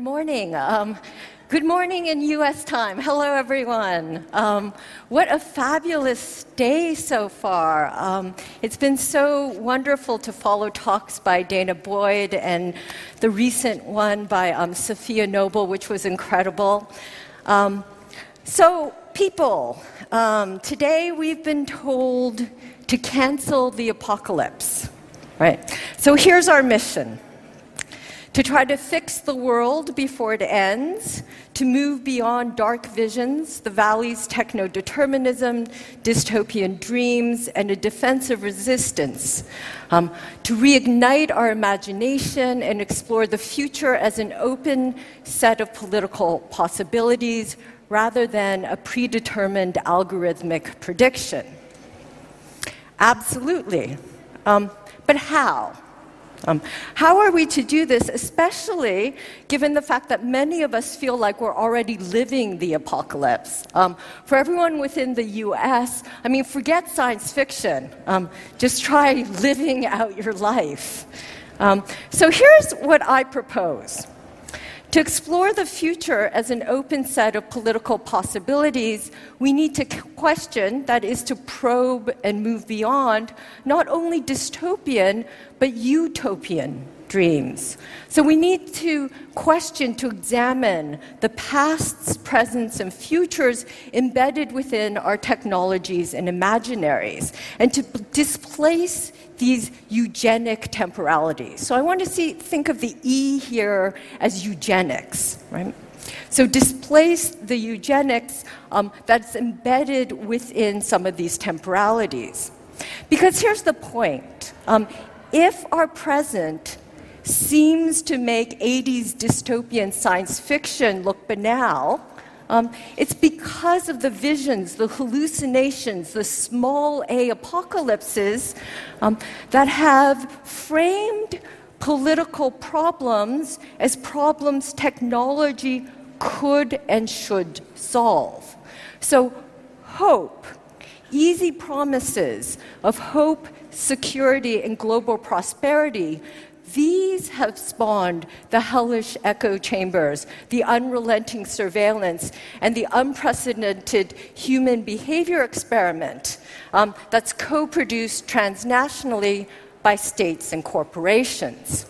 morning. Good morning in U.S. time. Hello, everyone. What a fabulous day so far. It's been so wonderful to follow talks by Dana Boyd and the recent one by Safiya Noble, which was incredible. So, people, today we've been told to cancel the apocalypse, right? So here's our mission. To try to fix the world before it ends, to move beyond dark visions, the valley's techno-determinism, dystopian dreams, and a defensive resistance, to reignite our imagination and explore the future as an open set of political possibilities rather than a predetermined algorithmic prediction. Absolutely. But how? How are we to do this, especially given the fact that many of us feel like we're already living the apocalypse? For everyone within the US, forget science fiction. Just try living out your life. So here's what I propose. To explore the future as an open set of political possibilities, we need to question, that is to probe and move beyond, not only dystopian, but utopian dreams. So we need to question, to examine the pasts, presents, and futures embedded within our technologies and imaginaries, and to displace these eugenic temporalities. So I want to think of the E here as eugenics, right? So displace the eugenics that's embedded within some of these temporalities. Because here's the point. If our present seems to make 80s dystopian science fiction look banal, it's because of the visions, the hallucinations, the small a apocalypses that have framed political problems as problems technology could and should solve. So hope, easy promises of hope, security, and global prosperity, these have spawned the hellish echo chambers, the unrelenting surveillance, and the unprecedented human behavior experiment that's co-produced transnationally by states and corporations.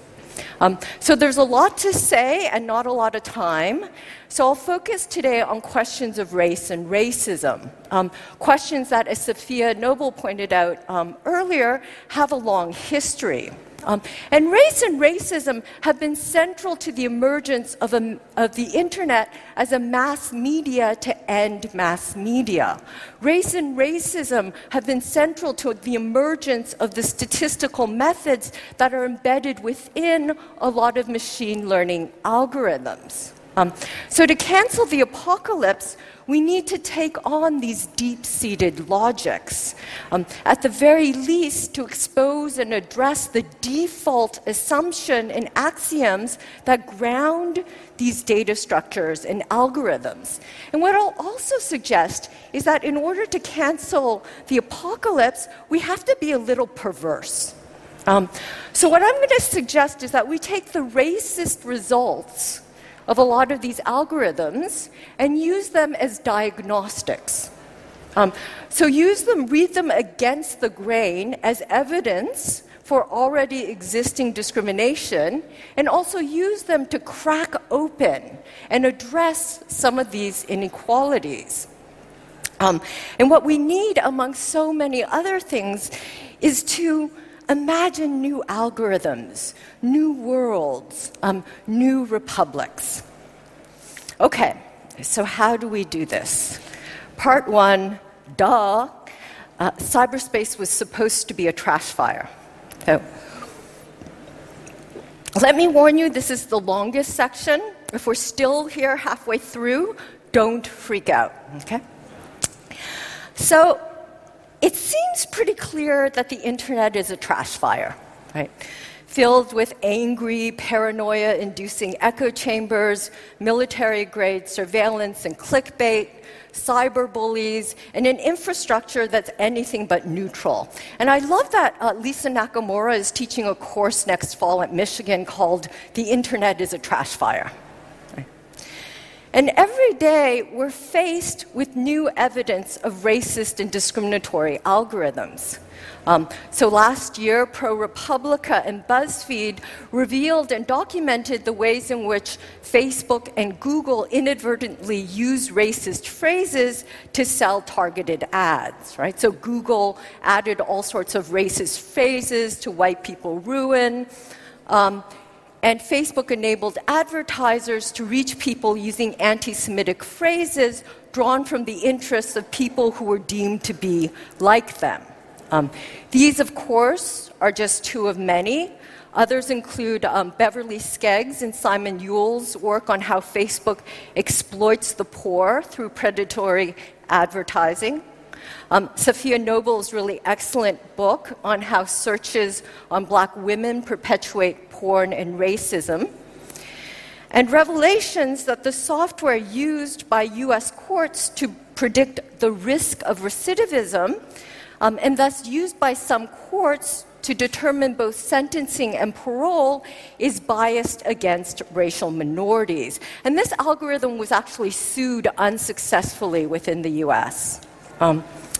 So there's a lot to say and not a lot of time. So I'll focus today on questions of race and racism, questions that, as Safiya Noble pointed out earlier, have a long history. And race and racism have been central to the emergence of the internet as a mass media to end mass media. Race and racism have been central to the emergence of the statistical methods that are embedded within a lot of machine learning algorithms. So to cancel the apocalypse, we need to take on these deep-seated logics. At the very least, to expose and address the default assumption and axioms that ground these data structures and algorithms. And what I'll also suggest is that in order to cancel the apocalypse, we have to be a little perverse. So what I'm going to suggest is that we take the racist results of a lot of these algorithms and use them as diagnostics. So read them against the grain as evidence for already existing discrimination, and also use them to crack open and address some of these inequalities. And what we need, among so many other things, is to imagine new algorithms, new worlds, new republics. Okay, so how do we do this? Part one, cyberspace was supposed to be a trash fire. So, let me warn you, this is the longest section. If we're still here halfway through, don't freak out, okay? So, it seems pretty clear that the internet is a trash fire, right? Filled with angry, paranoia-inducing echo chambers, military-grade surveillance and clickbait, cyberbullies, and an infrastructure that's anything but neutral. And I love that Lisa Nakamura is teaching a course next fall at Michigan called The Internet is a Trash Fire. And every day, we're faced with new evidence of racist and discriminatory algorithms. So last year, ProPublica and BuzzFeed revealed and documented the ways in which Facebook and Google inadvertently use racist phrases to sell targeted ads, right? So Google added all sorts of racist phrases to white people ruin. And Facebook enabled advertisers to reach people using anti-Semitic phrases drawn from the interests of people who were deemed to be like them. These, of course, are just two of many. Others include Beverly Skeggs and Simon Yule's work on how Facebook exploits the poor through predatory advertising. Safiya Noble's really excellent book on how searches on black women perpetuate porn and racism. And revelations that the software used by US courts to predict the risk of recidivism and thus used by some courts to determine both sentencing and parole is biased against racial minorities. And this algorithm was actually sued unsuccessfully within the US. And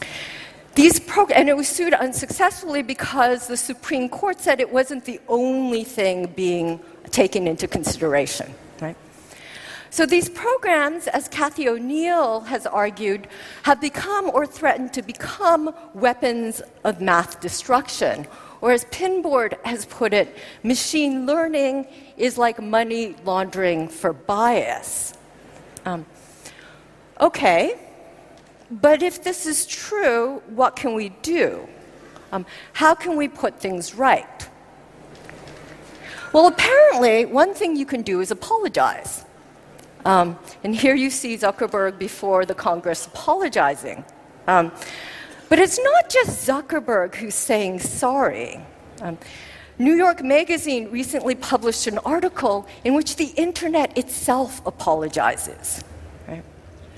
it was sued unsuccessfully because the Supreme Court said it wasn't the only thing being taken into consideration, right? So these programs, as Cathy O'Neil has argued, have become or threatened to become weapons of mass destruction. Or as Pinboard has put it, machine learning is like money laundering for bias. Okay, but if this is true, what can we do? How can we put things right? Well, apparently, one thing you can do is apologize. And here you see Zuckerberg before the Congress apologizing. But it's not just Zuckerberg who's saying sorry. New York Magazine recently published an article in which the internet itself apologizes. Right?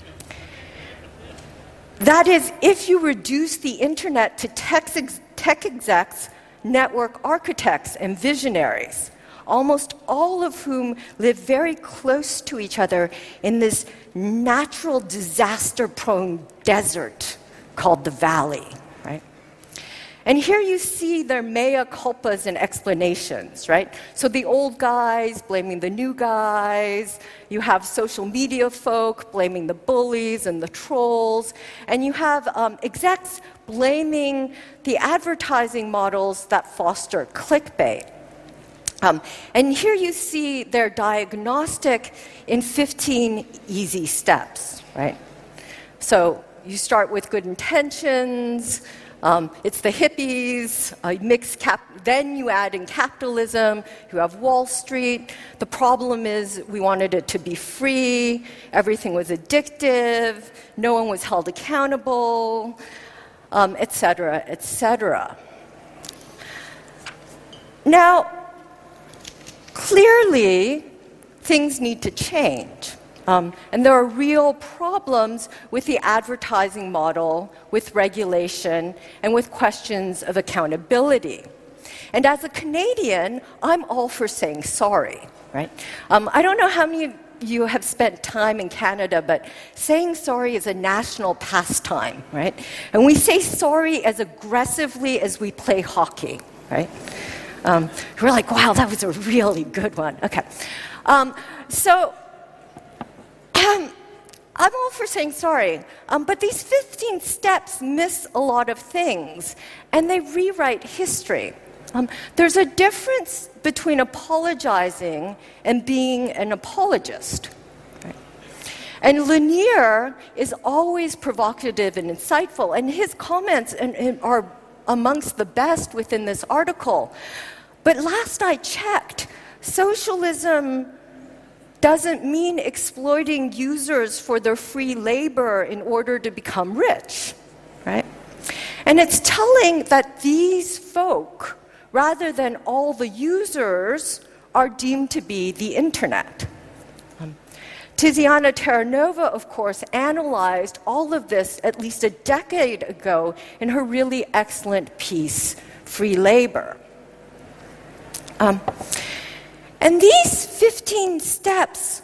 That is, if you reduce the internet to tech execs, network architects, and visionaries, almost all of whom live very close to each other in this natural disaster-prone desert called the Valley, right? And here you see their mea culpas and explanations, right? So the old guys blaming the new guys, you have social media folk blaming the bullies and the trolls, and you have execs blaming the advertising models that foster clickbait. And here you see their diagnostic in 15 easy steps, right? So you start with good intentions, it's the hippies, then you add in capitalism, you have Wall Street. The problem is we wanted it to be free, everything was addictive, no one was held accountable, et cetera, et cetera. Now, clearly, things need to change. And there are real problems with the advertising model, with regulation, and with questions of accountability. And as a Canadian, I'm all for saying sorry, right? I don't know how many of you have spent time in Canada, but saying sorry is a national pastime, right? And we say sorry as aggressively as we play hockey, right? We're like, wow, that was a really good one. Okay. I'm all for saying sorry, but these 15 steps miss a lot of things, and they rewrite history. There's a difference between apologizing and being an apologist. Right? And Lanier is always provocative and insightful, and his comments are amongst the best within this article. But last I checked, socialism doesn't mean exploiting users for their free labor in order to become rich, right? And it's telling that these folk, rather than all the users, are deemed to be the internet. Tiziana Terranova, of course, analyzed all of this at least a decade ago in her really excellent piece, Free Labor. And these 15 steps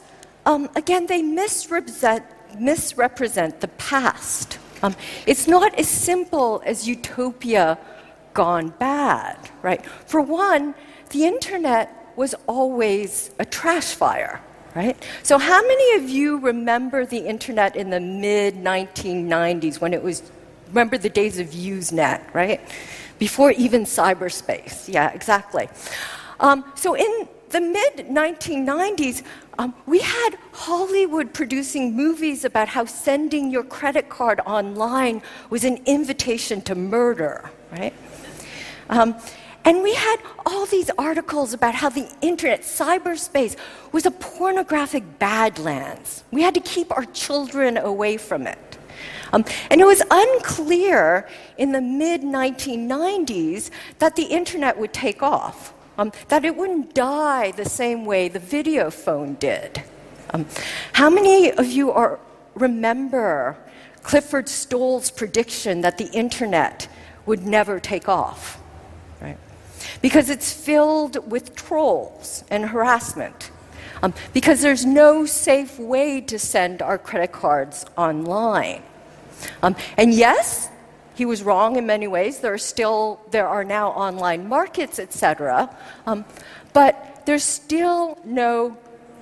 again, they misrepresent the past. It's not as simple as utopia gone bad, right? For one, the internet was always a trash fire, right? So how many of you remember the internet in the mid-1990s when it was, remember the days of Usenet, right? Before even cyberspace. Yeah, exactly. So in the mid-1990s, we had Hollywood producing movies about how sending your credit card online was an invitation to murder, right? And we had all these articles about how the internet, cyberspace, was a pornographic badlands. We had to keep our children away from it. And it was unclear in the mid-1990s that the internet would take off, that it wouldn't die the same way the video phone did. How many of you remember Clifford Stoll's prediction that the internet would never take off? Right? Because it's filled with trolls and harassment. Because there's no safe way to send our credit cards online. And yes, he was wrong in many ways. There are now online markets, etc. But there's still no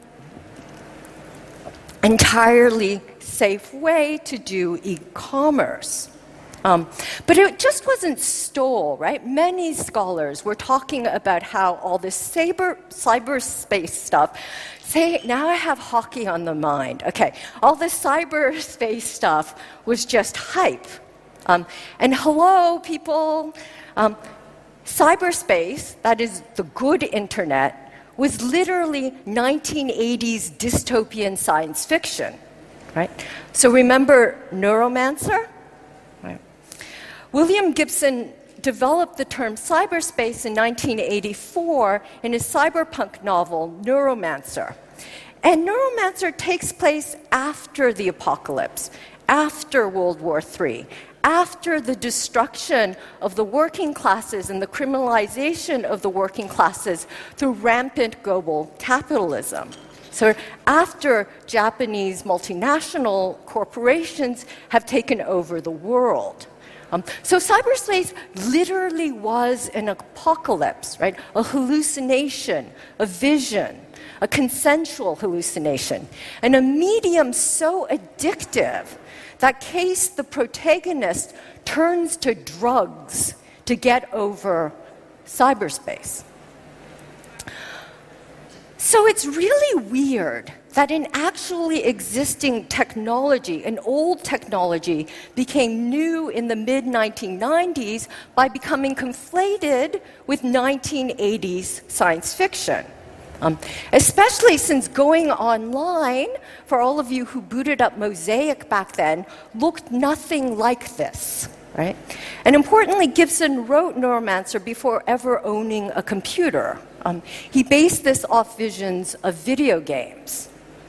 entirely safe way to do e-commerce. But it just wasn't Stoll, right? Many scholars were talking about how all this cyberspace stuff, now I have hockey on the mind. Okay, all this cyberspace stuff was just hype. And hello, people, cyberspace, that is the good internet, was literally 1980s dystopian science fiction, right? So remember Neuromancer? William Gibson developed the term cyberspace in 1984 in his cyberpunk novel, Neuromancer. And Neuromancer takes place after the apocalypse, after World War III, after the destruction of the working classes and the criminalization of the working classes through rampant global capitalism. So after Japanese multinational corporations have taken over the world. So cyberspace literally was an apocalypse, right? A hallucination, a vision, a consensual hallucination, and a medium so addictive that Case, the protagonist, turns to drugs to get over cyberspace. So it's really weird that an actually existing technology, an old technology, became new in the mid-1990s by becoming conflated with 1980s science fiction. Especially since going online, for all of you who booted up Mosaic back then, looked nothing like this, right? And importantly, Gibson wrote Neuromancer before ever owning a computer. He based this off visions of video games.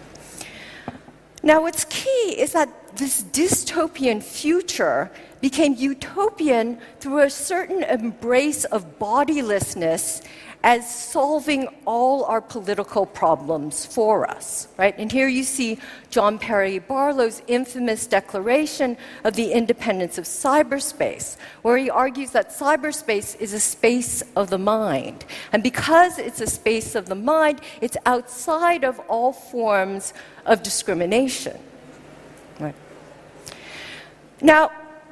Now, what's key is that this dystopian future became utopian through a certain embrace of bodilessness as solving all our political problems for us, right? And here you see John Perry Barlow's infamous declaration of the independence of cyberspace, where he argues that cyberspace is a space of the mind. And because it's a space of the mind, it's outside of all forms of discrimination, right? Now,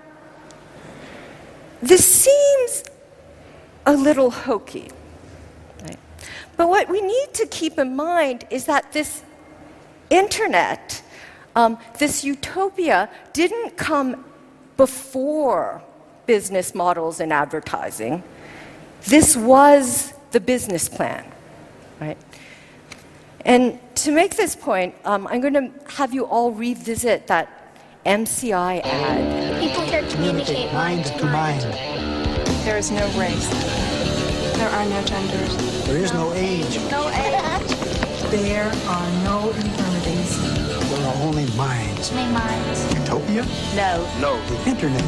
this seems a little hokey. But what we need to keep in mind is that this internet, this utopia, didn't come before business models and advertising. This was the business plan, right? And to make this point, I'm going to have you all revisit that MCI ad. People here communicate mind to mind. There is no race. There are no genders. There is no age. No age. There are no infirmities. There are only minds. Only minds. Utopia? No. The internet.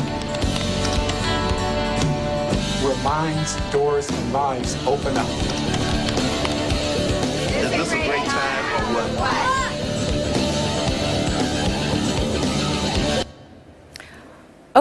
Where minds, doors, and lives open up. Is this a great time or what?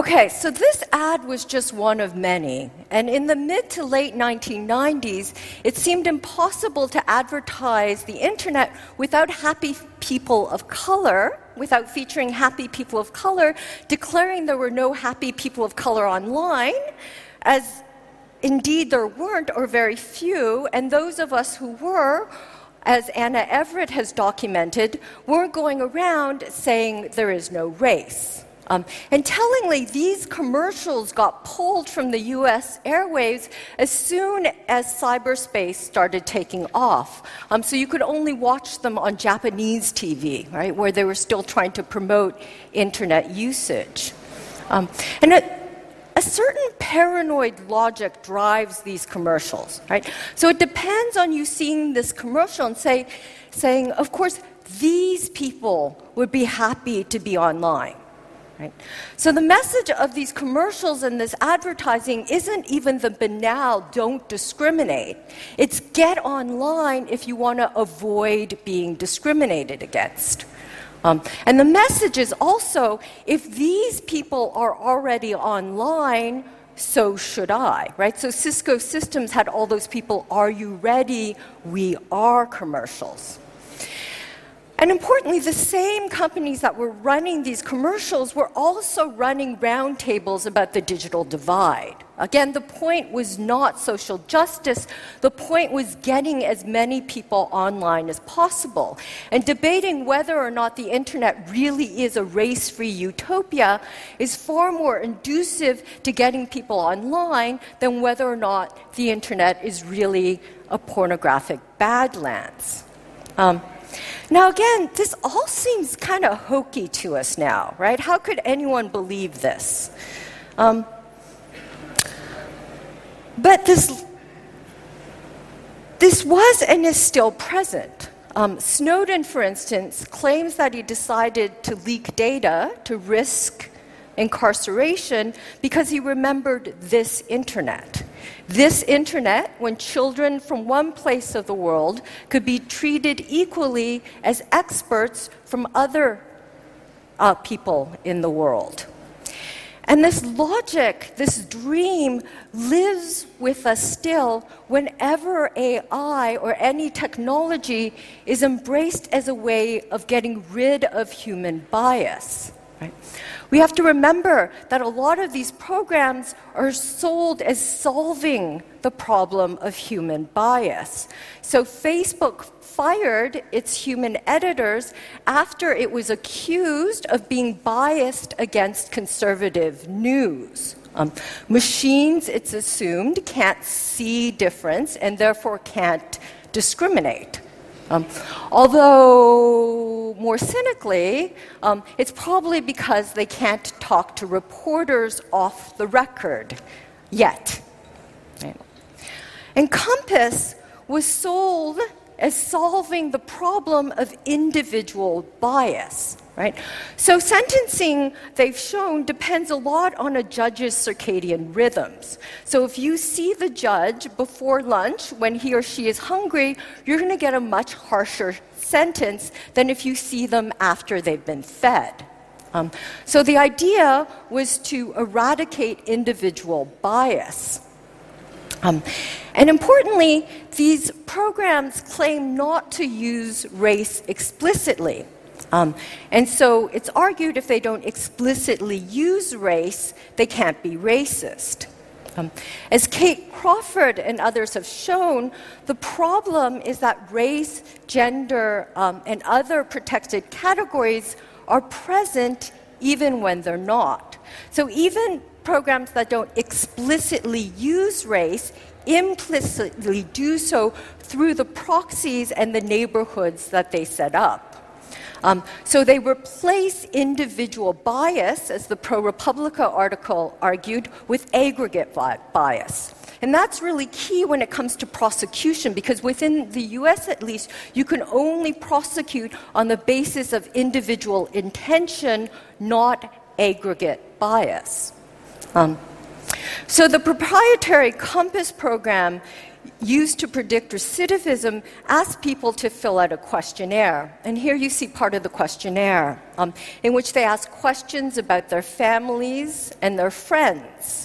Okay, so this ad was just one of many. And in the mid to late 1990s, it seemed impossible to advertise the internet without happy people of color, without featuring happy people of color, declaring there were no happy people of color online, as indeed there weren't, or very few, and those of us who were, as Anna Everett has documented, weren't going around saying there is no race. And tellingly, these commercials got pulled from the US airwaves as soon as cyberspace started taking off. So you could only watch them on Japanese TV, right, where they were still trying to promote internet usage. And a certain paranoid logic drives these commercials, right? So it depends on you seeing this commercial and saying, of course, these people would be happy to be online. Right? So the message of these commercials and this advertising isn't even the banal don't discriminate. It's get online if you want to avoid being discriminated against. And the message is also, if these people are already online, so should I, right? So Cisco Systems had all those people, are you ready? We are commercials. And importantly, the same companies that were running these commercials were also running roundtables about the digital divide. Again, the point was not social justice. The point was getting as many people online as possible. And debating whether or not the internet really is a race-free utopia is far more conducive to getting people online than whether or not the internet is really a pornographic badlands. Now, again, this all seems kind of hokey to us now, right? How could anyone believe this? But this was and is still present. Snowden, for instance, claims that he decided to leak data to risk incarceration because he remembered this internet. This internet, when children from one place of the world could be treated equally as experts from other people in the world. And this logic, this dream, lives with us still whenever AI or any technology is embraced as a way of getting rid of human bias. Right? We have to remember that a lot of these programs are sold as solving the problem of human bias. So Facebook fired its human editors after it was accused of being biased against conservative news. Machines, it's assumed, can't see difference and therefore can't discriminate. Although, more cynically, it's probably because they can't talk to reporters off the record yet. Right? And Compass was sold as solving the problem of individual bias. Right? So sentencing, they've shown, depends a lot on a judge's circadian rhythms. So if you see the judge before lunch when he or she is hungry, you're going to get a much harsher sentence than if you see them after they've been fed. So the idea was to eradicate individual bias. And importantly, these programs claim not to use race explicitly. And so it's argued if they don't explicitly use race, they can't be racist. As Kate Crawford and others have shown, the problem is that race, gender, and other protected categories are present even when they're not. So even programs that don't explicitly use race implicitly do so through the proxies and the neighborhoods that they set up. So they replace individual bias, as the ProRepublica article argued, with aggregate bias. And that's really key when it comes to prosecution, because within the US at least, you can only prosecute on the basis of individual intention, not aggregate bias. So the proprietary Compass program used to predict recidivism asked people to fill out a questionnaire. And here you see part of the questionnaire, in which they ask questions about their families and their friends.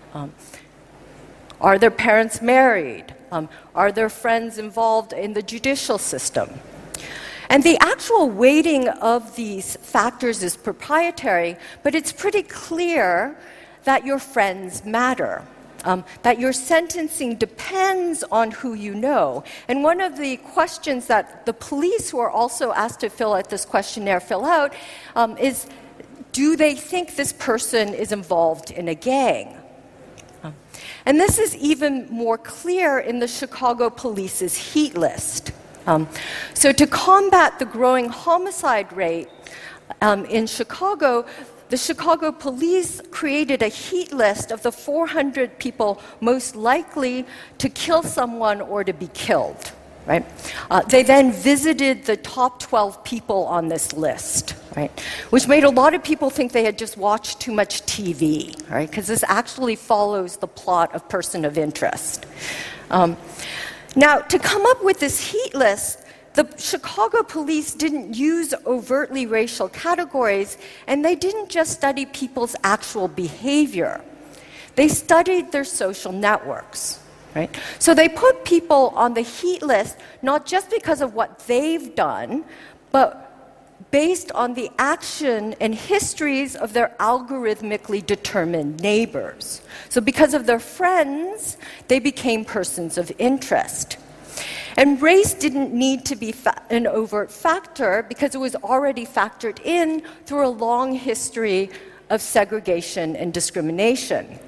Are their parents married? Are their friends involved in the judicial system? And the actual weighting of these factors is proprietary, but it's pretty clear that your friends matter, that your sentencing depends on who you know. And one of the questions that the police, who are also asked to fill out this questionnaire, fill out is, do they think this person is involved in a gang? And this is even more clear in the Chicago Police's heat list. So to combat the growing homicide rate in Chicago, the Chicago Police created a heat list of the 400 people most likely to kill someone or to be killed. Right? They then visited the top 12 people on this list, right? Which made a lot of people think they had just watched too much TV, right? Because this actually follows the plot of Person of Interest. Now, to come up with this heat list, the Chicago Police didn't use overtly racial categories, and they didn't just study people's actual behavior. They studied their social networks. Right? So they put people on the heat list not just because of what they've done, but based on the action and histories of their algorithmically determined neighbors. So because of their friends, they became persons of interest. And race didn't need to be an overt factor because it was already factored in through a long history of segregation and discrimination.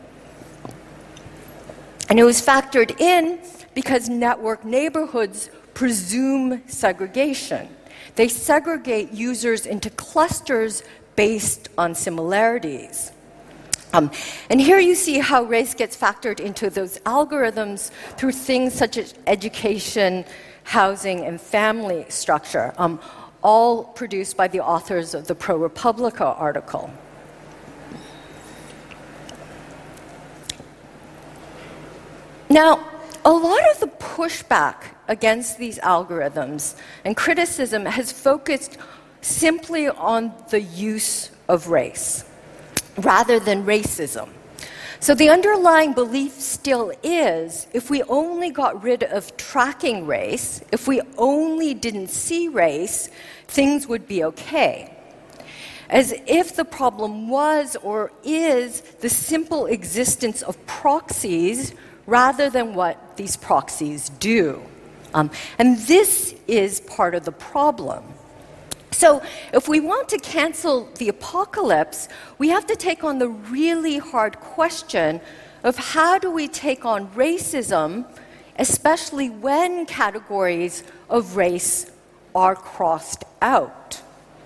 And it was factored in because network neighborhoods presume segregation. They segregate users into clusters based on similarities. And here you see how race gets factored into those algorithms through things such as education, housing, and family structure, all produced by the authors of the ProPublica article. Now, a lot of the pushback against these algorithms and criticism has focused simply on the use of race rather than racism. So the underlying belief still is, if we only got rid of tracking race, if we only didn't see race, things would be okay. As if the problem was or is the simple existence of proxies rather than what these proxies do. And this is part of the problem. So if we want to cancel the apocalypse, we have to take on the really hard question of how do we take on racism, especially when categories of race are crossed out.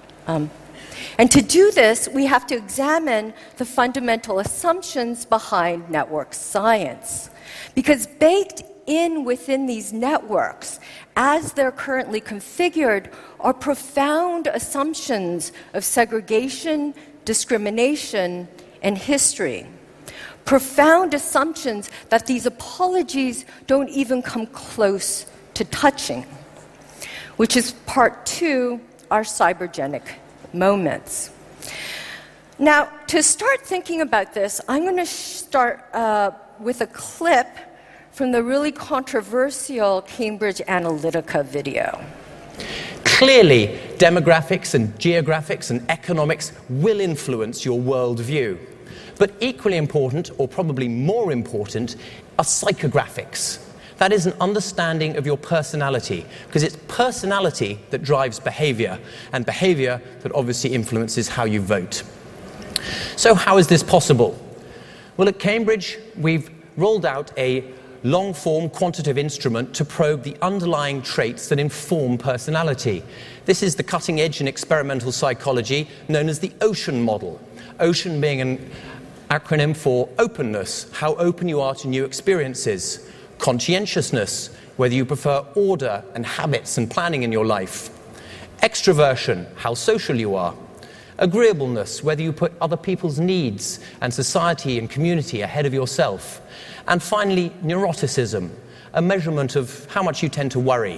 And to do this, we have to examine the fundamental assumptions behind network science. Because baked in within these networks, as they're currently configured, are profound assumptions of segregation, discrimination, and history. Profound assumptions that these apologies don't even come close to touching, which is part 2, our cybergenic moments. Now, to start thinking about this, I'm going to start with a clip from the really controversial Cambridge Analytica video. Clearly, demographics and geographics and economics will influence your worldview. But equally important, or probably more important, are psychographics. That is an understanding of your personality, because it's personality that drives behavior, and behavior that obviously influences how you vote. So how is this possible? Well, at Cambridge, we've rolled out a long-form quantitative instrument to probe the underlying traits that inform personality. This is the cutting edge in experimental psychology known as the OCEAN model. OCEAN being an acronym for openness, how open you are to new experiences. Conscientiousness, whether you prefer order and habits and planning in your life. Extroversion, how social you are. Agreeableness, whether you put other people's needs and society and community ahead of yourself. And finally, neuroticism, a measurement of how much you tend to worry.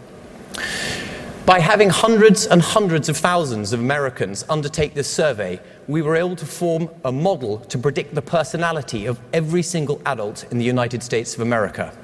By having hundreds and hundreds of thousands of Americans undertake this survey, we were able to form a model to predict the personality of every single adult in the United States of America.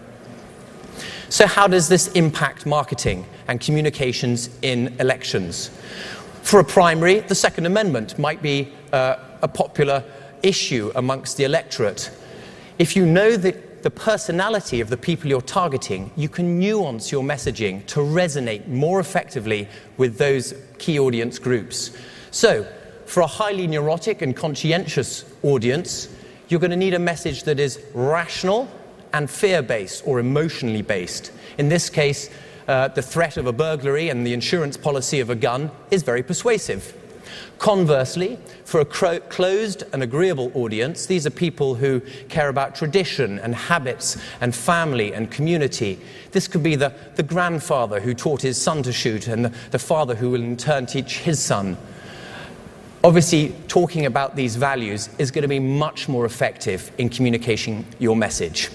So how does this impact marketing and communications in elections? For a primary, the Second Amendment might be a popular issue amongst the electorate. If you know the personality of the people you're targeting, you can nuance your messaging to resonate more effectively with those key audience groups. So, for a highly neurotic and conscientious audience, you're going to need a message that is rational and fear-based or emotionally based. In this case, the threat of a burglary and the insurance policy of a gun is very persuasive. Conversely, for a closed and agreeable audience, these are people who care about tradition and habits and family and community. This could be the grandfather who taught his son to shoot and the father who will in turn teach his son. Obviously, talking about these values is going to be much more effective in communicating your message.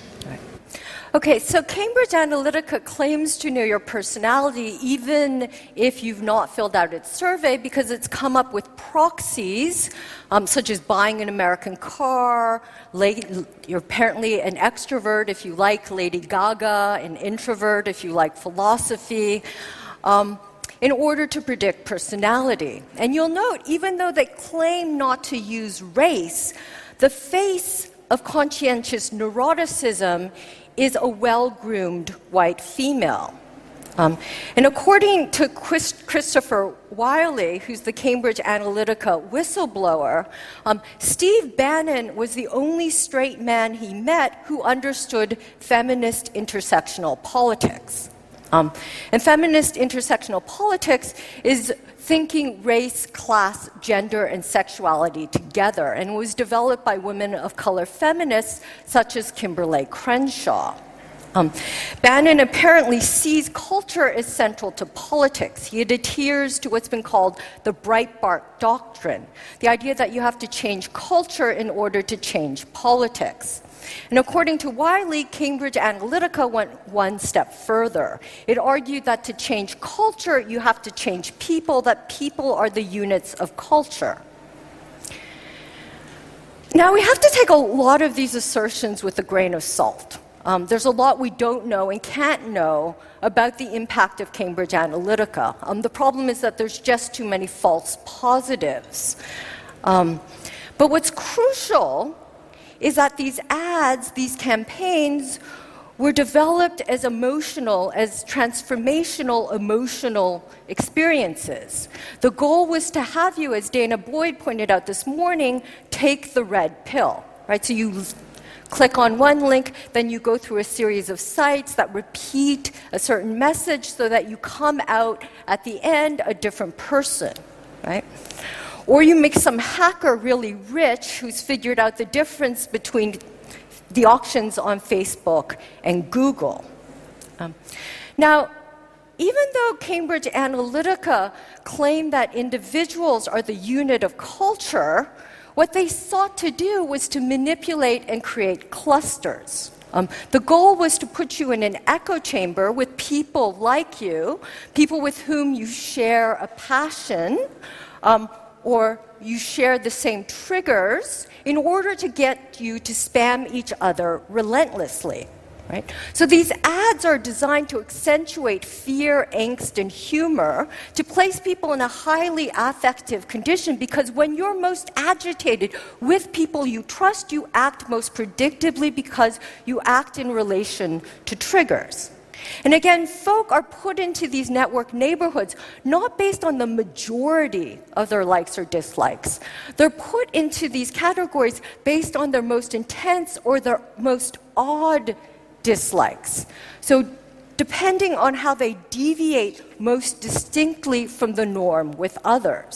Okay, so Cambridge Analytica claims to know your personality even if you've not filled out its survey because it's come up with proxies, such as buying an American car, you're apparently an extrovert if you like Lady Gaga, an introvert if you like philosophy, in order to predict personality. And you'll note, even though they claim not to use race, the face of conscientious neuroticism is a well-groomed white female. And according to Christopher Wiley, who's the Cambridge Analytica whistleblower, Steve Bannon was the only straight man he met who understood feminist intersectional politics. And feminist intersectional politics is thinking race, class, gender, and sexuality together, and was developed by women of color feminists such as Kimberlé Crenshaw. Bannon apparently sees culture as central to politics. He adheres to what's been called the Breitbart Doctrine, the idea that you have to change culture in order to change politics. And according to Wiley, Cambridge Analytica went one step further. It argued that to change culture, you have to change people, that people are the units of culture. Now, we have to take a lot of these assertions with a grain of salt. There's a lot we don't know and can't know about the impact of Cambridge Analytica. The problem is that there's just too many false positives. But what's crucial is that these ads, these campaigns, were developed as transformational emotional experiences. The goal was to have you, as Dana Boyd pointed out this morning, take the red pill, right? So you click on one link, then you go through a series of sites that repeat a certain message so that you come out at the end a different person, right? Or you make some hacker really rich who's figured out the difference between the auctions on Facebook and Google. Now, even though Cambridge Analytica claimed that individuals are the unit of culture, what they sought to do was to manipulate and create clusters. The goal was to put you in an echo chamber with people like you, people with whom you share a passion, or you share the same triggers in order to get you to spam each other relentlessly. Right? So these ads are designed to accentuate fear, angst, and humor, to place people in a highly affective condition, because when you're most agitated with people you trust, you act most predictably because you act in relation to triggers. And again, folk are put into these network neighborhoods not based on the majority of their likes or dislikes. They're put into these categories based on their most intense or their most odd dislikes. So depending on how they deviate most distinctly from the norm with others.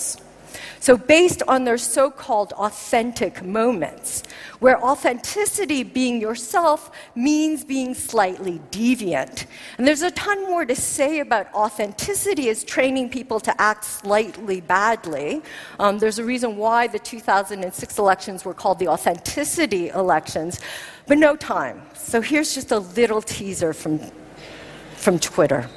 So based on their so-called authentic moments, where authenticity, being yourself, means being slightly deviant. And there's a ton more to say about authenticity as training people to act slightly badly. There's a reason why the 2006 elections were called the authenticity elections, but no time. So here's just a little teaser from Twitter.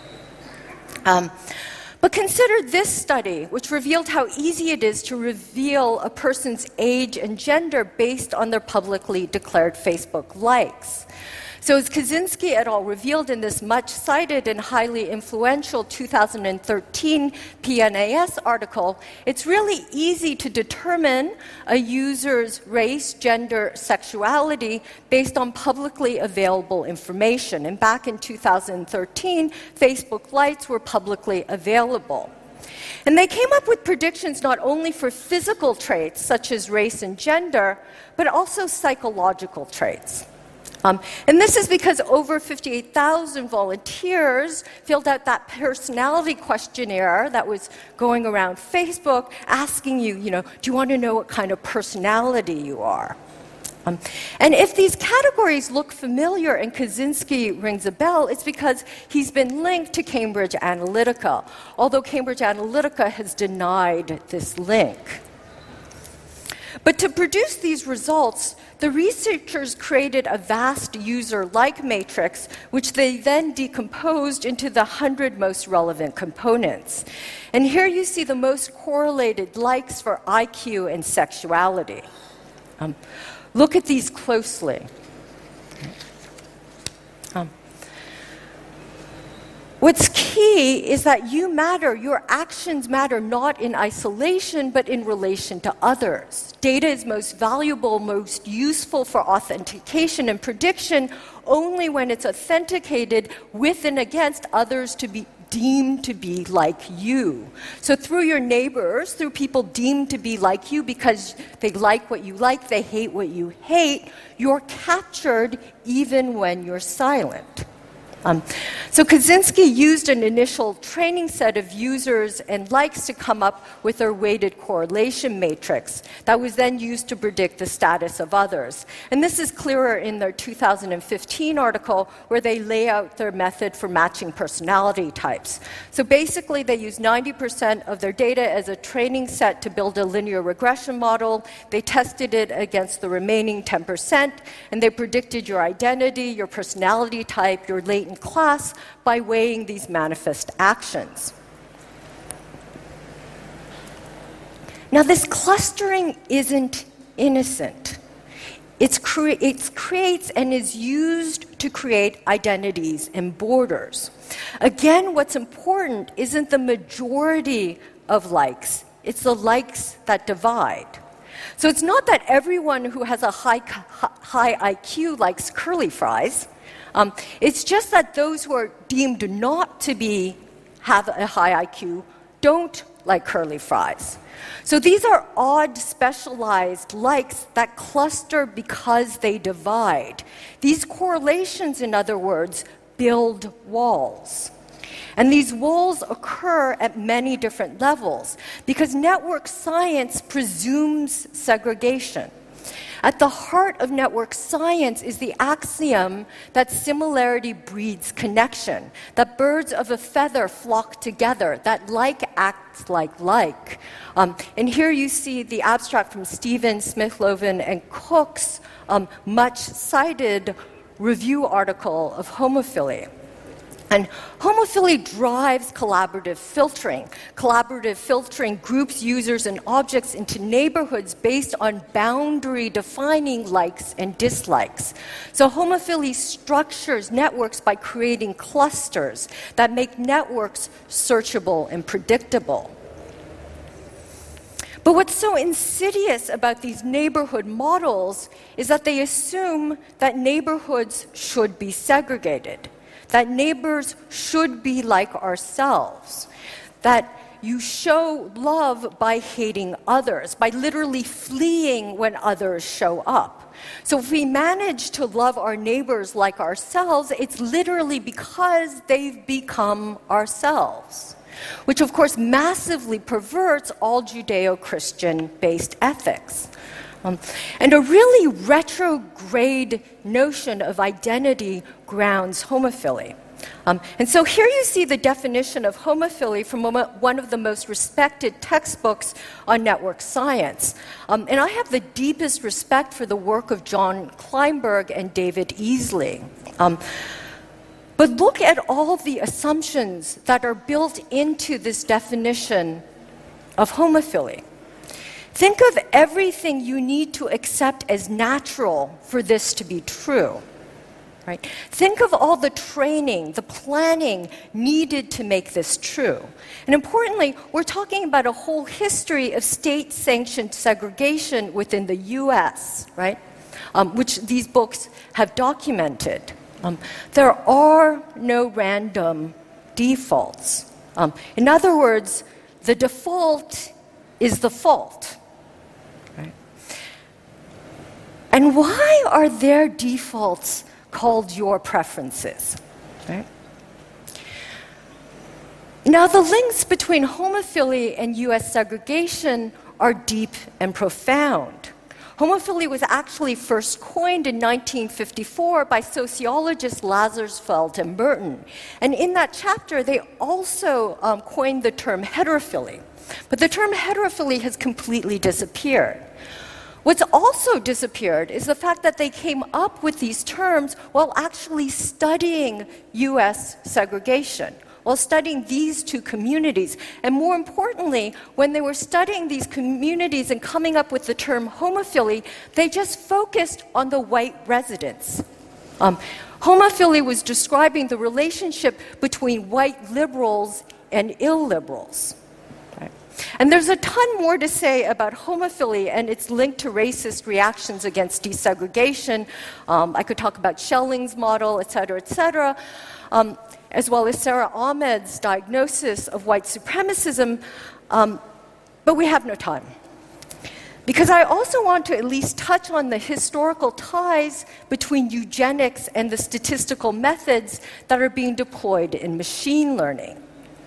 But consider this study, which revealed how easy it is to reveal a person's age and gender based on their publicly declared Facebook likes. So as Kaczynski et al. Revealed in this much-cited and highly influential 2013 PNAS article, it's really easy to determine a user's race, gender, sexuality based on publicly available information. And back in 2013, Facebook likes were publicly available. And they came up with predictions not only for physical traits, such as race and gender, but also psychological traits. And this is because over 58,000 volunteers filled out that personality questionnaire that was going around Facebook asking you, do you want to know what kind of personality you are? And if these categories look familiar and Kaczynski rings a bell, it's because he's been linked to Cambridge Analytica, although Cambridge Analytica has denied this link. But to produce these results, the researchers created a vast user-like matrix, which they then decomposed into the 100 most relevant components. And here you see the most correlated likes for IQ and sexuality. Look at these closely. What's key is that you matter, your actions matter not in isolation, but in relation to others. Data is most valuable, most useful for authentication and prediction only when it's authenticated with and against others to be deemed to be like you. So through your neighbors, through people deemed to be like you because they like what you like, they hate what you hate, you're captured even when you're silent. So Kaczynski used an initial training set of users and likes to come up with their weighted correlation matrix that was then used to predict the status of others. And this is clearer in their 2015 article where they lay out their method for matching personality types. So basically they use 90% of their data as a training set to build a linear regression model. They tested it against the remaining 10%, and they predicted your identity, your personality type, your latent class by weighing these manifest actions. Now, this clustering isn't innocent. It creates and is used to create identities and borders. Again, what's important isn't the majority of likes, it's the likes that divide. So it's not that everyone who has a high IQ likes curly fries. It's just that those who are deemed not to have a high IQ don't like curly fries. So these are odd, specialized likes that cluster because they divide. These correlations, in other words, build walls. And these walls occur at many different levels because network science presumes segregation. At the heart of network science is the axiom that similarity breeds connection, that birds of a feather flock together, that like acts like like. And here you see the abstract from Stevens, Smith-Loven, and Cook's much-cited review article of homophily. And homophily drives collaborative filtering. Collaborative filtering groups users and objects into neighborhoods based on boundary-defining likes and dislikes. So homophily structures networks by creating clusters that make networks searchable and predictable. But what's so insidious about these neighborhood models is that they assume that neighborhoods should be segregated, that neighbors should be like ourselves, that you show love by hating others, by literally fleeing when others show up. So if we manage to love our neighbors like ourselves, it's literally because they've become ourselves. which of course massively perverts all Judeo-Christian based ethics. And a really retrograde notion of identity grounds homophily. And so here you see the definition of homophily from one of the most respected textbooks on network science. And I have the deepest respect for the work of John Kleinberg and David Easley. But look at all the assumptions that are built into this definition of homophily. Think of everything you need to accept as natural for this to be true. Right? Think of all the training, the planning needed to make this true. And importantly, we're talking about a whole history of state-sanctioned segregation within the US, right? Which these books have documented. There are no random defaults. In other words, the default is the fault. Right? And why are there defaults called your preferences? Right? Now, the links between homophily and US segregation are deep and profound. Homophily was actually first coined in 1954 by sociologists Lazarsfeld and Merton. And in that chapter, they also coined the term heterophily. But the term heterophily has completely disappeared. What's also disappeared is the fact that they came up with these terms while actually studying US segregation, while studying these two communities. And more importantly, when they were studying these communities and coming up with the term homophily, they just focused on the white residents. Homophily was describing the relationship between white liberals and illiberals. And there's a ton more to say about homophily and its link to racist reactions against desegregation. I could talk about Schelling's model, et cetera, as well as Sarah Ahmed's diagnosis of white supremacism, but we have no time. Because I also want to at least touch on the historical ties between eugenics and the statistical methods that are being deployed in machine learning.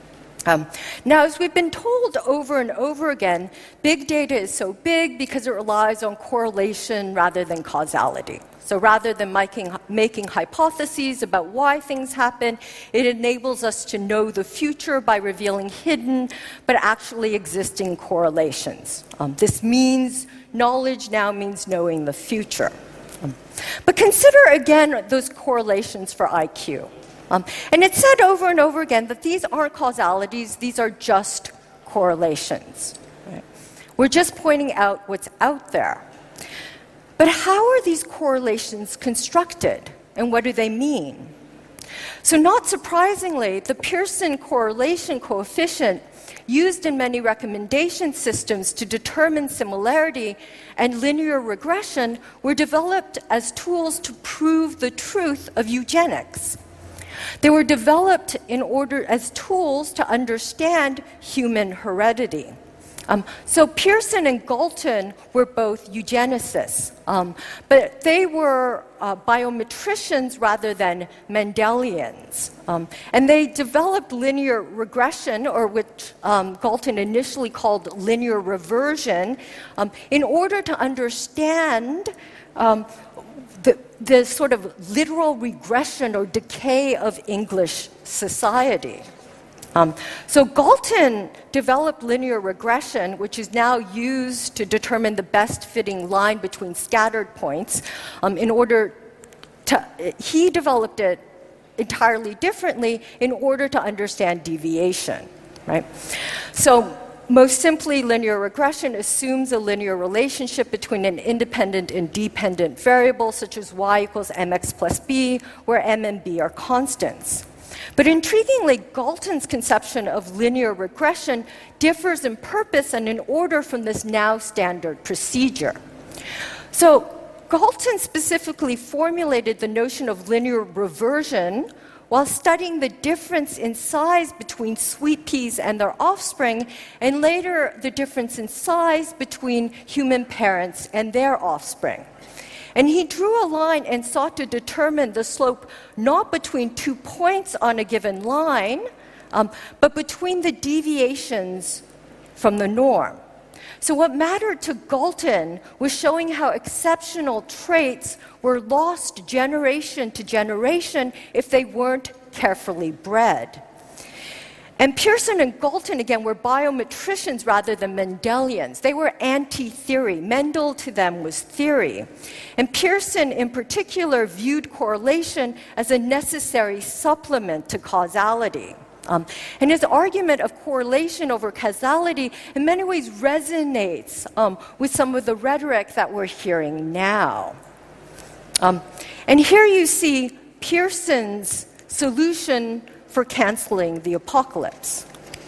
Now, as we've been told over and over again, big data is so big because it relies on correlation rather than causality. So rather than making hypotheses about why things happen, it enables us to know the future by revealing hidden but actually existing correlations. This means knowledge now means knowing the future. But consider again those correlations for IQ. And it's said over and over again that these aren't causalities, these are just correlations. Right? We're just pointing out what's out there. But how are these correlations constructed, and what do they mean? So not surprisingly, the Pearson correlation coefficient used in many recommendation systems to determine similarity and linear regression were developed as tools to prove the truth of eugenics. They were developed in order as tools to understand human heredity. So Pearson and Galton were both eugenicists, but they were biometricians rather than Mendelians. And they developed linear regression, or which Galton initially called linear reversion, in order to understand the sort of literal regression or decay of English society. So Galton developed linear regression, which is now used to determine the best fitting line between scattered points. He developed it entirely differently in order to understand deviation, right? So most simply, linear regression assumes a linear relationship between an independent and dependent variable, such as y equals mx plus b, where m and b are constants. But intriguingly, Galton's conception of linear regression differs in purpose and in order from this now standard procedure. So Galton specifically formulated the notion of linear reversion while studying the difference in size between sweet peas and their offspring, and later the difference in size between human parents and their offspring. And he drew a line and sought to determine the slope not between 2 points on a given line, but between the deviations from the norm. So what mattered to Galton was showing how exceptional traits were lost generation to generation if they weren't carefully bred. And Pearson and Galton, again, were biometricians rather than Mendelians. They were anti-theory. Mendel to them was theory. And Pearson, in particular, viewed correlation as a necessary supplement to causality. And his argument of correlation over causality in many ways resonates with some of the rhetoric that we're hearing now. And here you see Pearson's solution for canceling the apocalypse.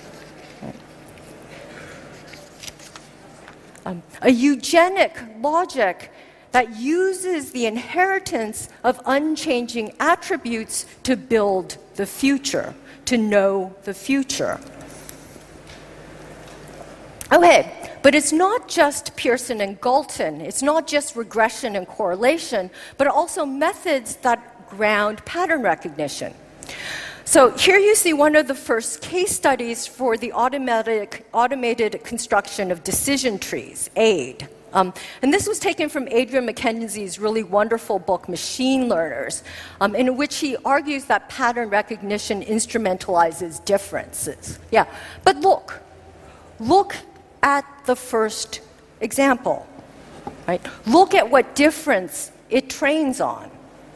A eugenic logic that uses the inheritance of unchanging attributes to build the future, to know the future. Okay, but it's not just Pearson and Galton. It's not just regression and correlation, but also methods that ground pattern recognition. So here you see one of the first case studies for the automated construction of decision trees, AID. And this was taken from Adrian Mackenzie's really wonderful book, Machine Learners, in which he argues that pattern recognition instrumentalizes differences. Yeah, but look at the first example, right? Look at what difference it trains on.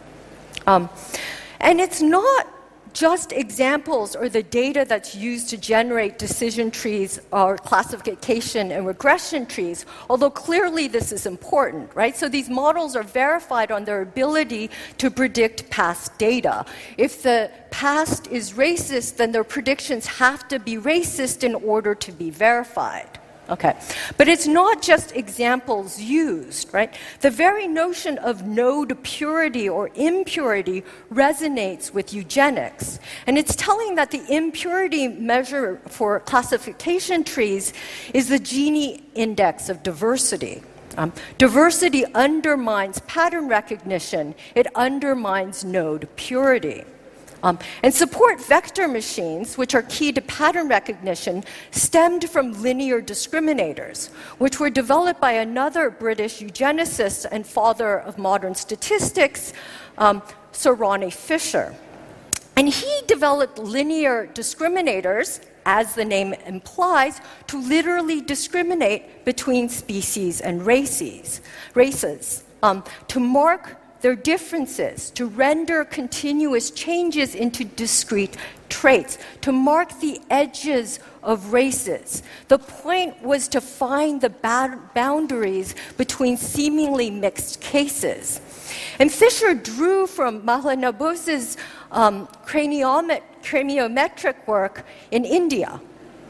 And it's not just examples or the data that's used to generate decision trees or classification and regression trees, although clearly this is important, right? So these models are verified on their ability to predict past data. If the past is racist, then their predictions have to be racist in order to be verified. Okay, but it's not just examples used, right? The very notion of node purity or impurity resonates with eugenics. And it's telling that the impurity measure for classification trees is the Gini index of diversity. Diversity undermines pattern recognition. It undermines node purity. And support vector machines, which are key to pattern recognition, stemmed from linear discriminators, which were developed by another British eugenicist and father of modern statistics, Sir Ronnie Fisher. And he developed linear discriminators, as the name implies, to literally discriminate between species and races, to mark their differences, to render continuous changes into discrete traits, to mark the edges of races. The point was to find the boundaries between seemingly mixed cases. And Fisher drew from Mahalanobis's craniometric work in India.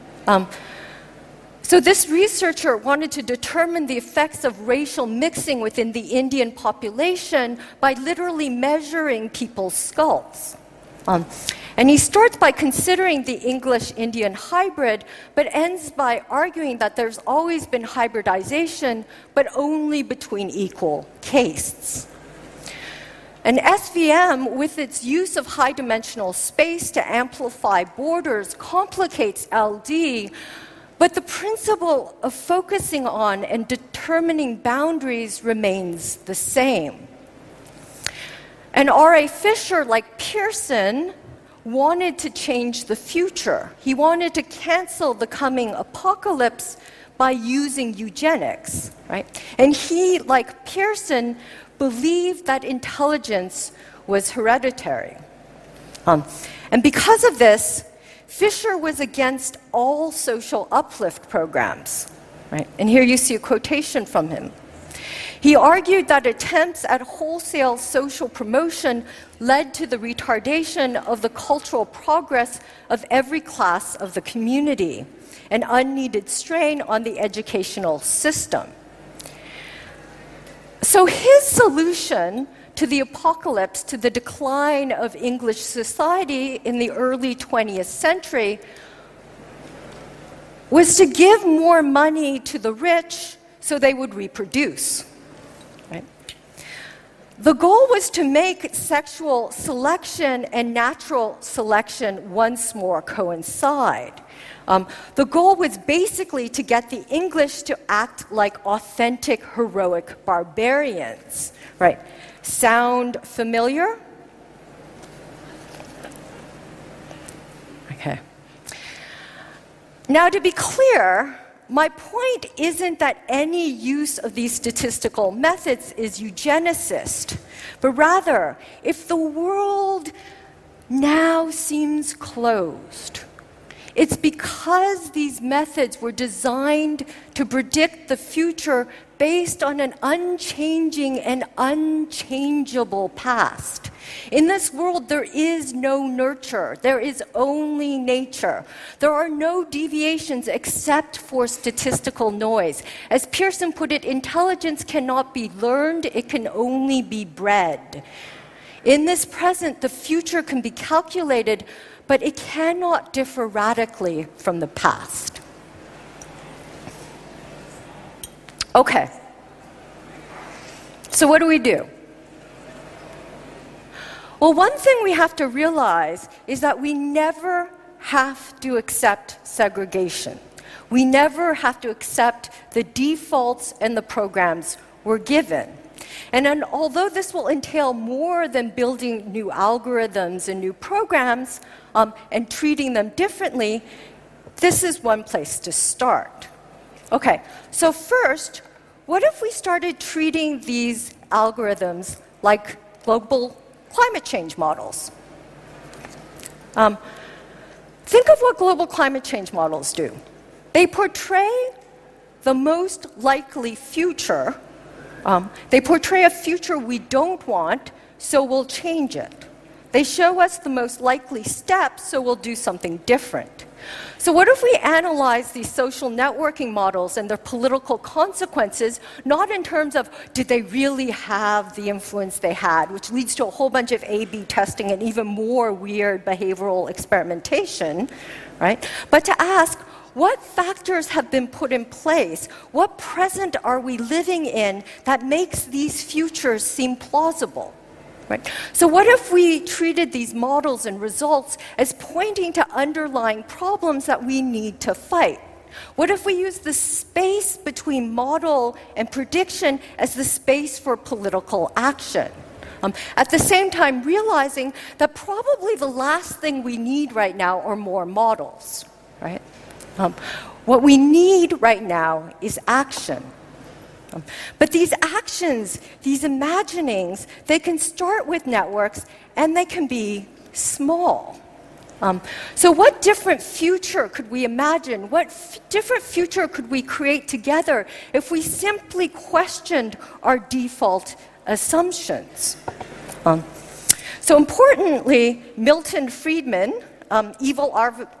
So this researcher wanted to determine the effects of racial mixing within the Indian population by literally measuring people's skulls. And he starts by considering the English-Indian hybrid, but ends by arguing that there's always been hybridization, but only between equal castes. And SVM, with its use of high-dimensional space to amplify borders, complicates LD, but the principle of focusing on and determining boundaries remains the same. And R.A. Fisher, like Pearson, wanted to change the future. He wanted to cancel the coming apocalypse by using eugenics, right? And he, like Pearson, believed that intelligence was hereditary. And because of this, Fisher was against all social uplift programs, right? And here you see a quotation from him. He argued that attempts at wholesale social promotion led to the retardation of the cultural progress of every class of the community, an unneeded strain on the educational system. So his solution to the apocalypse, to the decline of English society in the early 20th century, was to give more money to the rich so they would reproduce. Right? The goal was to make sexual selection and natural selection once more coincide. The goal was basically to get the English to act like authentic, heroic barbarians. Right? Sound familiar? Okay. Now, to be clear, my point isn't that any use of these statistical methods is eugenicist, but rather, if the world now seems closed, it's because these methods were designed to predict the future based on an unchanging and unchangeable past. In this world, there is no nurture. There is only nature. There are no deviations except for statistical noise. As Pearson put it, intelligence cannot be learned, it can only be bred. In this present, the future can be calculated, but it cannot differ radically from the past. Okay. So what do we do? Well, one thing we have to realize is that we never have to accept segregation. We never have to accept the defaults and the programs we're given. And although this will entail more than building new algorithms and new programs and treating them differently, this is one place to start. Okay, so first, what if we started treating these algorithms like global climate change models? Think of what global climate change models do. They portray the most likely future. They portray a future we don't want, so we'll change it. They show us the most likely steps, so we'll do something different. So what if we analyze these social networking models and their political consequences, not in terms of did they really have the influence they had, which leads to a whole bunch of A/B testing and even more weird behavioral experimentation, right? But to ask, what factors have been put in place? What present are we living in that makes these futures seem plausible? Right? So what if we treated these models and results as pointing to underlying problems that we need to fight? What if we use the space between model and prediction as the space for political action? At the same time, realizing that probably the last thing we need right now are more models. Right? What we need right now is action. But these actions, these imaginings, they can start with networks and they can be small. So what different future could we imagine? What different future could we create together if we simply questioned our default assumptions? So importantly, Milton Friedman, evil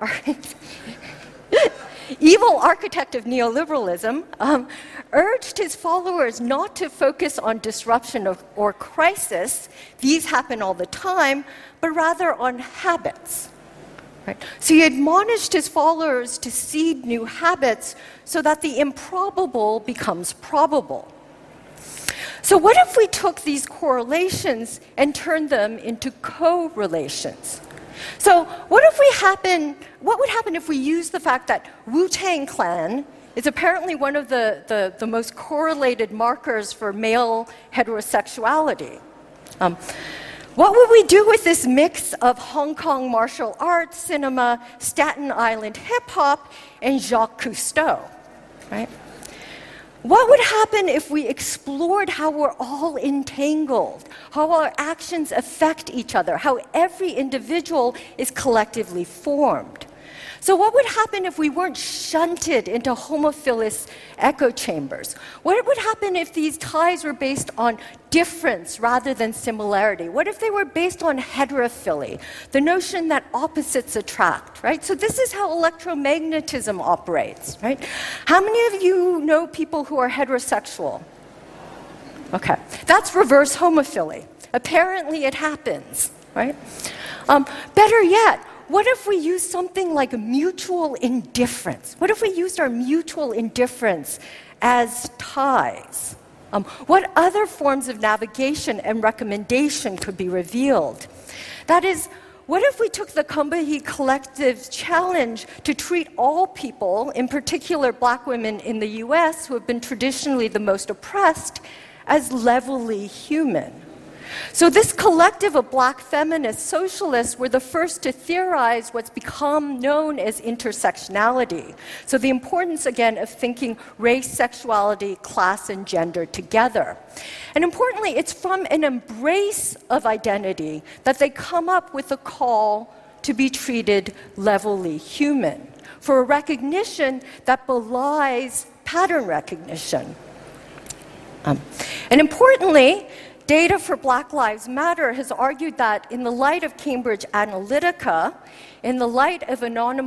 architect of neoliberalism, urged his followers not to focus on disruption or crisis, these happen all the time, but rather on habits. Right? So he admonished his followers to seed new habits so that the improbable becomes probable. So what if we took these correlations and turned them into correlations? So what would happen if we used the fact that Wu-Tang Clan is apparently one of the most correlated markers for male heterosexuality? What would we do with this mix of Hong Kong martial arts, cinema, Staten Island hip-hop, and Jacques Cousteau? Right? What would happen if we explored how we're all entangled, how our actions affect each other, how every individual is collectively formed? So what would happen if we weren't shunted into homophilous echo chambers? What would happen if these ties were based on difference rather than similarity? What if they were based on heterophily, the notion that opposites attract, right? So this is how electromagnetism operates, right? How many of you know people who are heterosexual? Okay, that's reverse homophily. Apparently it happens, right? Better yet, what if we used something like mutual indifference? What if we used our mutual indifference as ties? What other forms of navigation and recommendation could be revealed? That is, what if we took the Combahee Collective's challenge to treat all people, in particular Black women in the US, who have been traditionally the most oppressed, as levelly human? So this collective of Black feminist socialists were the first to theorize what's become known as intersectionality. So the importance, again, of thinking race, sexuality, class, and gender together. And importantly, it's from an embrace of identity that they come up with a call to be treated levelly human, for a recognition that belies pattern recognition. And importantly, Data for Black Lives Matter has argued that in the light of Cambridge Analytica, in the light of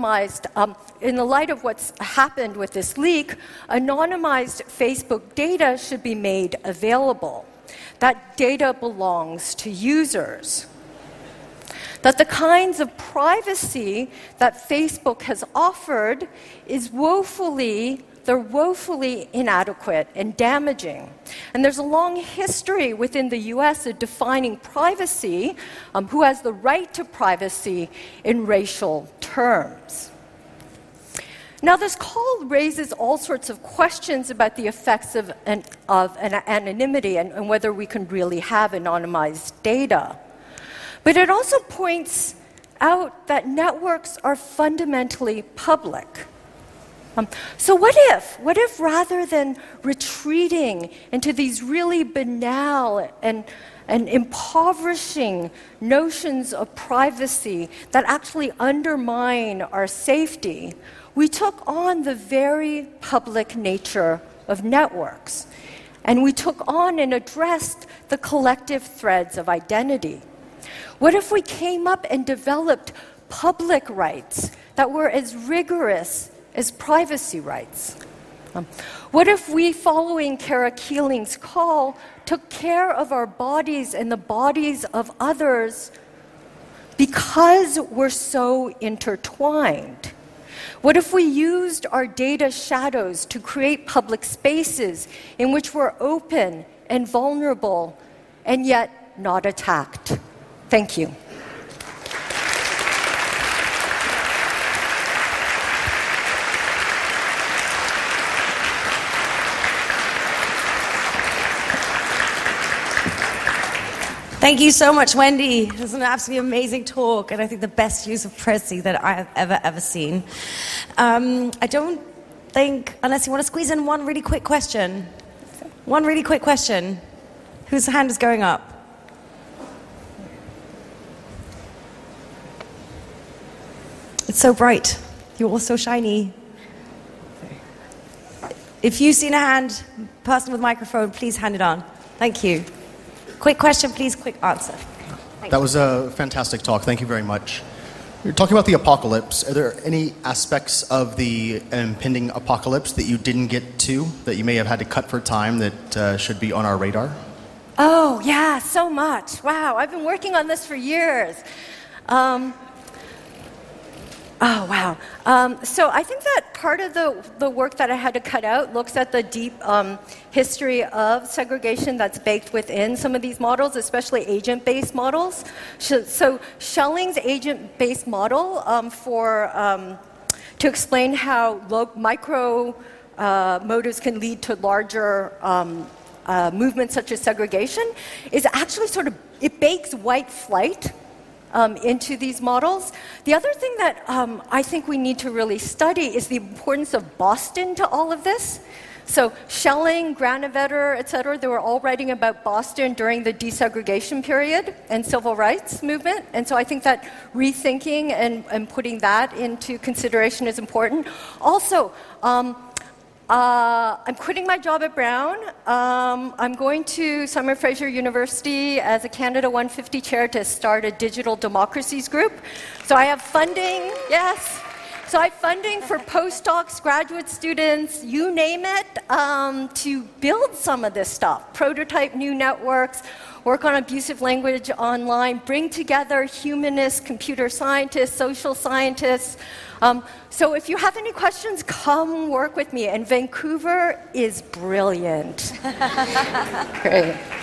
what's happened with this leak, anonymized Facebook data should be made available. That data belongs to users. That the kinds of privacy that Facebook has offered they're woefully inadequate and damaging. And there's a long history within the US of defining privacy, who has the right to privacy in racial terms. Now, this call raises all sorts of questions about the effects of anonymity and whether we can really have anonymized data. But it also points out that networks are fundamentally public. So what if rather than retreating into these really banal and impoverishing notions of privacy that actually undermine our safety, we took on the very public nature of networks, and we took on and addressed the collective threads of identity? What if we came up and developed public rights that were as rigorous as privacy rights? What if we, following Kara Keeling's call, took care of our bodies and the bodies of others because we're so intertwined? What if we used our data shadows to create public spaces in which we're open and vulnerable and yet not attacked? Thank you. Thank you so much, Wendy. It was an absolutely amazing talk, and I think the best use of privacy that I have ever seen. I don't think, unless you want to squeeze in one really quick question. One really quick question. Whose hand is going up? It's so bright. You're all so shiny. If you've seen a hand, person with microphone, please hand it on. Thank you. Quick question, please, quick answer. That was a fantastic talk. Thank you very much. You're talking about the apocalypse. Are there any aspects of the impending apocalypse that you didn't get to, that you may have had to cut for time, that should be on our radar? Oh, yeah, so much. Wow, I've been working on this for years. Oh, wow. So I think that part of the work that I had to cut out looks at the deep history of segregation that's baked within some of these models, especially agent-based models. So Schelling's agent-based model to explain how micro motives can lead to larger movements such as segregation is actually it bakes white flight into these models. The other thing that I think we need to really study is the importance of Boston to all of this. So Schelling, Granovetter, et cetera, they were all writing about Boston during the desegregation period and civil rights movement. And so I think that rethinking and putting that into consideration is important. Also, I'm quitting my job at Brown. I'm going to Simon Fraser University as a Canada 150 chair to start a digital democracies group. So I have funding, yes. So I have funding for postdocs, graduate students, you name it, to build some of this stuff, prototype new networks, work on abusive language online, bring together humanists, computer scientists, social scientists. So if you have any questions, come work with me. And Vancouver is brilliant. Great.